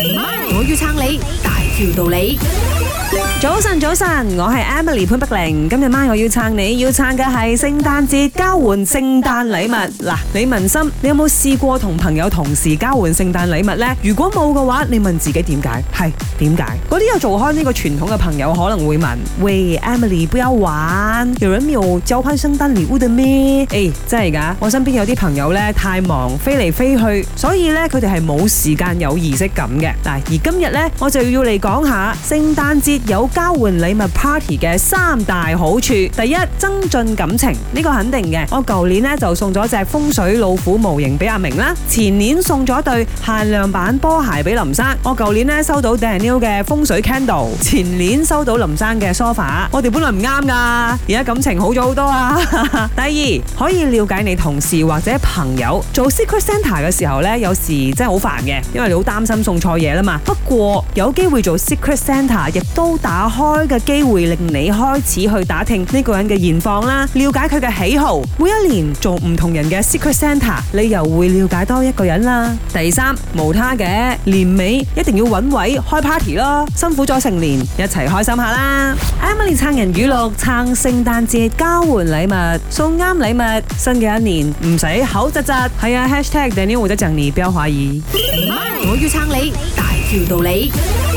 我要撐你，大條道理。 早晨，我係 Emily 潘碧玲。今日晚我要撐你，要撐嘅係聖誕節交換聖誕禮物。嗱，你問心，你有冇試過同朋友同時交換聖誕禮物呢？如果冇嘅話，你問自己點解？係點解？嗰啲有做開呢個傳統嘅朋友可能會問：喂 ，Emily 不要玩，有人沒有交換聖誕禮物的咩？誒，真係㗎，我身邊有啲朋友呢，太忙，飛嚟飛去，所以呢，佢哋係冇時間有儀式感嘅。嗱，而今日呢，我就要嚟講下聖誕節有交換禮物 party 嘅3大好處。第一，增進感情，呢個肯定嘅。我舊年呢就送咗隻風水老虎模型俾阿明啦，前年送咗對限量版波鞋俾林生。我舊年呢收到 Daniel 嘅風水 candle， 前年收到林生嘅 sofa。我哋本來唔啱噶，而家感情好咗好多啊。第二，可以了解你同事或者朋友。做 Secret Santa 嘅時候呢，有時真係好煩嘅，因為你好擔心送錯嘢啦嘛。不過有機會做 Secret Santa，亦都打開嘅機會令你開始去打聽呢個人嘅現況啦，了解佢嘅喜好。每一年做唔同人嘅 Secret Santa， 你又會了解多一個人啦。第三，無他嘅，年尾一定要揾位開 party 咯，辛苦咗成年，一齊開心下啦。Emily 撐人語錄，撐聖誕節交換禮物，送啱禮物，新嘅一年唔使口窒窒。係啊，#Daniel 或者鄭妮，不要懷疑。 我要撐你，大條道理。